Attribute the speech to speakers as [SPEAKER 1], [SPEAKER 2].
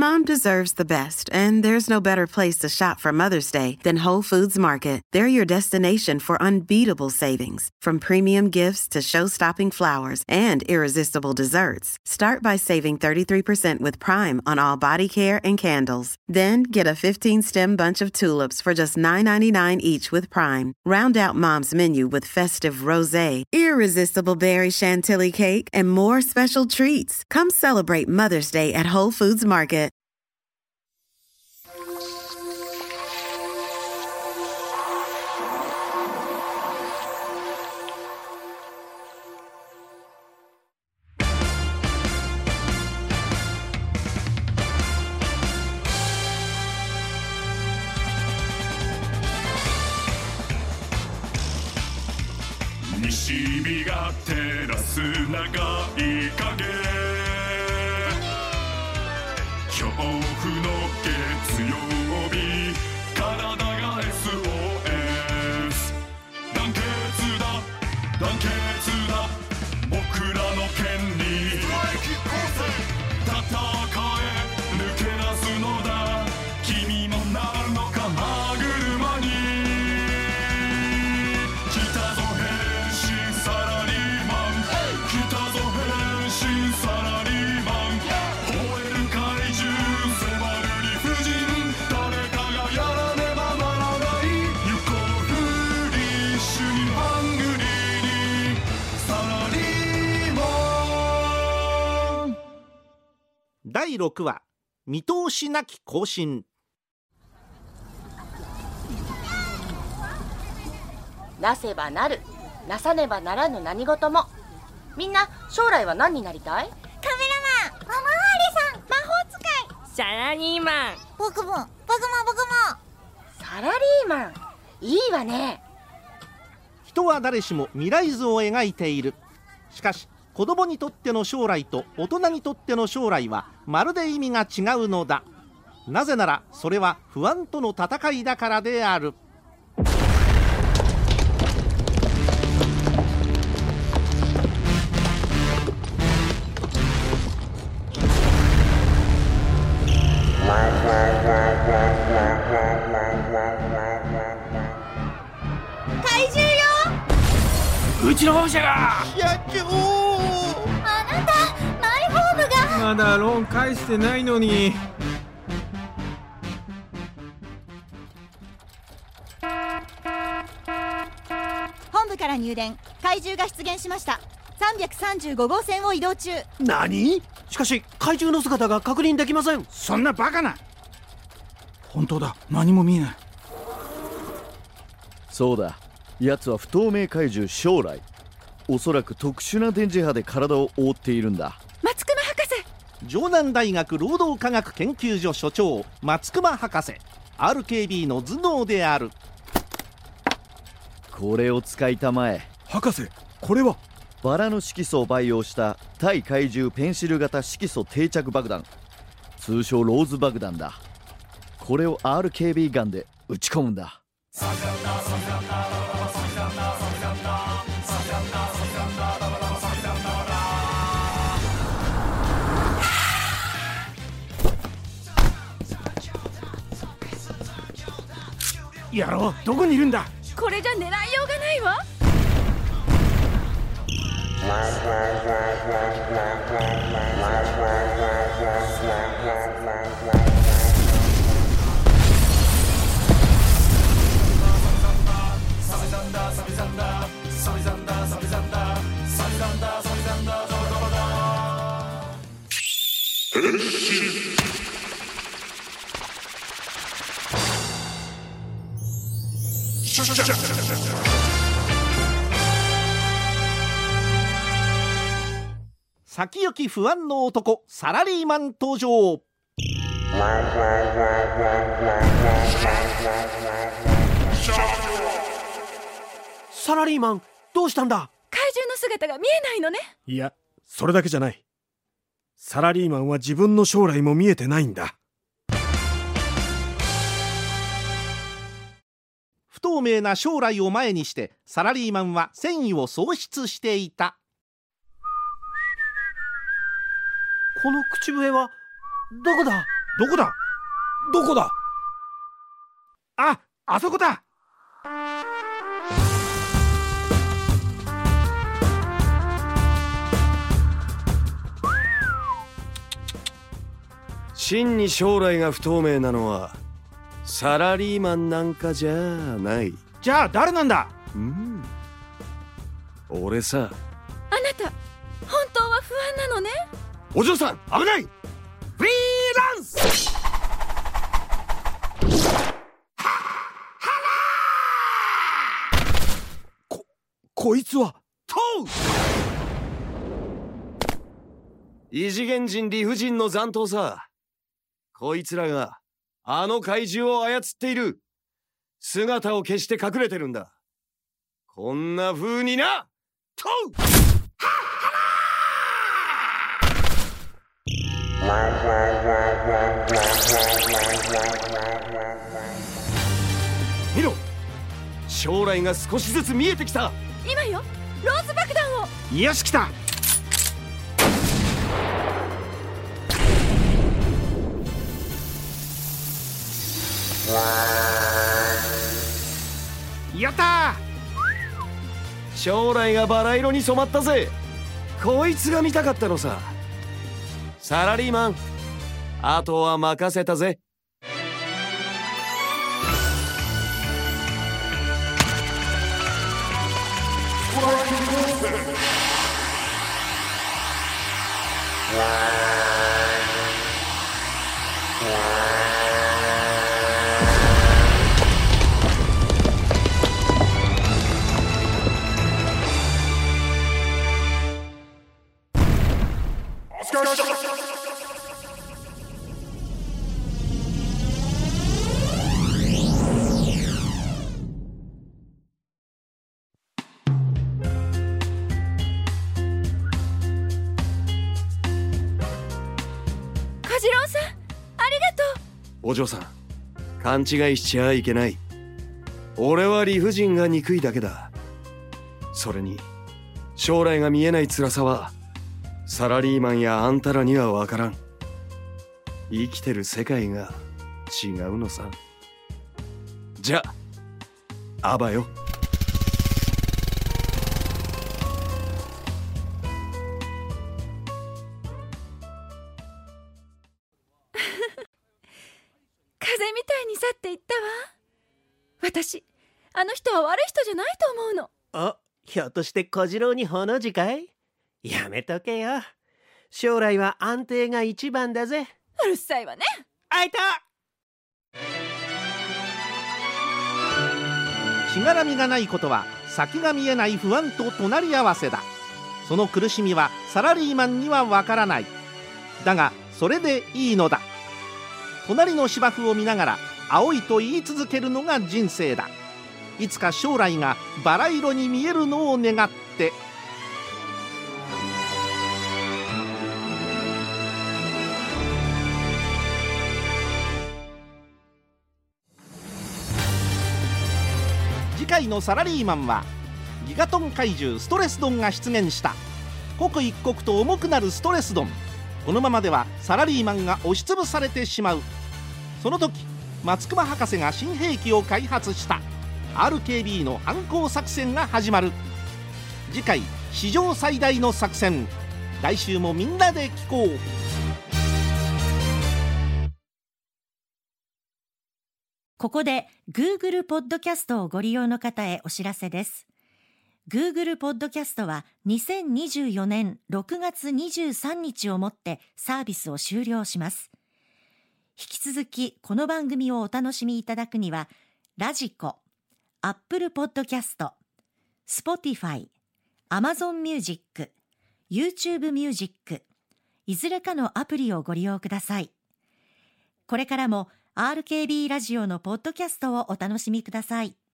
[SPEAKER 1] Mom deserves the best, and there's no better place to shop for Mother's Day than Whole Foods Market. They're your destination for unbeatable savings, from premium gifts to show-stopping flowers and irresistible desserts. Start by saving 33% with Prime on all body care and candles. Then get a 15-stem bunch of tulips for just $9.99 each with Prime. Round out Mom's menu with festive rosé, irresistible berry chantilly cake, and more special treats. Come celebrate Mother's Day at Whole Foods Market.
[SPEAKER 2] 西日が照らす長い影、恐怖の月曜日、体が SOS、 団結だ団結だ、僕らの権利、戦え抜け出すのだ、君もなるのか歯車に、来たぞ変身サラリーマン、来たぞ変身サラリーマン、吠える怪獣迫る理不尽、誰かがやらねばならない、行こうフリッシュにハングリーにサラリーマン。
[SPEAKER 3] 第6話、見通しなき行進。
[SPEAKER 4] なせばなる、なさねばならぬ何事も。みんな将来は何になりたい？
[SPEAKER 5] カメラマン、おまわりさん、魔法使い、
[SPEAKER 6] サラリーマン。
[SPEAKER 5] 僕も。
[SPEAKER 4] サラリーマン、いいわね。
[SPEAKER 3] 人は誰しも未来図を描いている。しかし子供にとっての将来と大人にとっての将来はまるで意味が違うのだ。なぜならそれは不安との戦いだからである。
[SPEAKER 5] 怪獣よ。
[SPEAKER 6] うちの本社が。
[SPEAKER 3] 社長、
[SPEAKER 5] あなた、マイホームが。
[SPEAKER 7] まだローン返してないのに。
[SPEAKER 8] 本部から入電、怪獣が出現しました。335号線を移動中。
[SPEAKER 9] 何？しかし怪獣の姿が確認できません。
[SPEAKER 7] そんなバカな。本当だ、何も見えない。
[SPEAKER 10] そうだ、奴は不透明怪獣将来。おそらく特殊な電磁波で体を覆っているんだ。
[SPEAKER 8] 松隈博士。
[SPEAKER 3] 城南大学労働科学研究所所長松隈博士、 RKB の頭脳である。
[SPEAKER 10] これを使いたまえ。
[SPEAKER 9] 博士、これは
[SPEAKER 10] バラの色素を培養した対怪獣ペンシル型色素定着爆弾、通称ローズ爆弾だ。これを RKB ガンで撃ち込むんだ。
[SPEAKER 7] 野郎、どこにいるんだ。
[SPEAKER 8] これじゃ狙いようがないわ。
[SPEAKER 3] 先行き不安の男サラリーマン登場。
[SPEAKER 9] サラリーマン、どうしたんだ？
[SPEAKER 8] 怪獣の姿が見えないのね。
[SPEAKER 9] いや、それだけじゃない。サラリーマンは自分の将来も見えてないんだ。
[SPEAKER 3] 不透明な将来を前にしてサラリーマンは戦意を喪失していた。
[SPEAKER 9] この口笛はどこだ？
[SPEAKER 7] どこだ？どこだ？あそこだ。
[SPEAKER 11] 真に将来が不透明なのはサラリーマンなんかじゃない。
[SPEAKER 7] じゃあ誰なんだ？
[SPEAKER 11] 俺さ。
[SPEAKER 12] あなた本当は不安なのね。
[SPEAKER 11] お嬢さん危ない。フリーランス。
[SPEAKER 7] こいつは
[SPEAKER 11] 異次元人理不尽の残党さ。こいつらがあの怪獣を操っている。姿を消して隠れてるんだ。こんな風にな。トウ見ろ、将来が少しずつ見えてきた。
[SPEAKER 12] 今よ、ローズ爆弾を。
[SPEAKER 7] よし来た。やった
[SPEAKER 11] ー。将来がバラ色に染まったぜ。こいつが見たかったのさ。サラリーマン、あとは任せたぜ。
[SPEAKER 12] 小次郎さん、ありがとう。
[SPEAKER 11] お嬢さん、勘違いしちゃいけない。俺は理不尽が憎いだけだ。それに将来が見えない辛さはサラリーマンやあんたらには分からん。生きてる世界が違うのさ。じゃあアバよ。
[SPEAKER 12] 風みたいに去っていったわ。私、あの人は悪い人じゃないと思うの。
[SPEAKER 13] あ、ひょっとして小次郎にほの字かい？やめとけよ。将来は安定が一番だぜ。
[SPEAKER 12] うるさいわね。
[SPEAKER 13] あいた！
[SPEAKER 3] しがらみがないことは先が見えない不安と隣り合わせだ。その苦しみはサラリーマンにはわからない。だがそれでいいのだ。隣の芝生を見ながら青いと言い続けるのが人生だ。いつか将来がバラ色に見えるのを願って。次回のサラリーマンはギガトン怪獣ストレスドンが出現した。刻一刻と重くなるストレスドン。このままではサラリーマンが押しつぶされてしまう。その時松隈博士が新兵器を開発した。 RKB の反抗作戦が始まる。次回史上最大の作戦。来週もみんなで聞こう。
[SPEAKER 14] ここで Google ポッドキャストをご利用の方へお知らせです。Google ポッドキャストは2024年6月23日をもってサービスを終了します。引き続きこの番組をお楽しみいただくには、ラジコ、Apple ポッドキャスト、Spotify、Amazon Music、YouTube Music、いずれかのアプリをご利用ください。これからもRKB ラジオのポッドキャストをお楽しみください。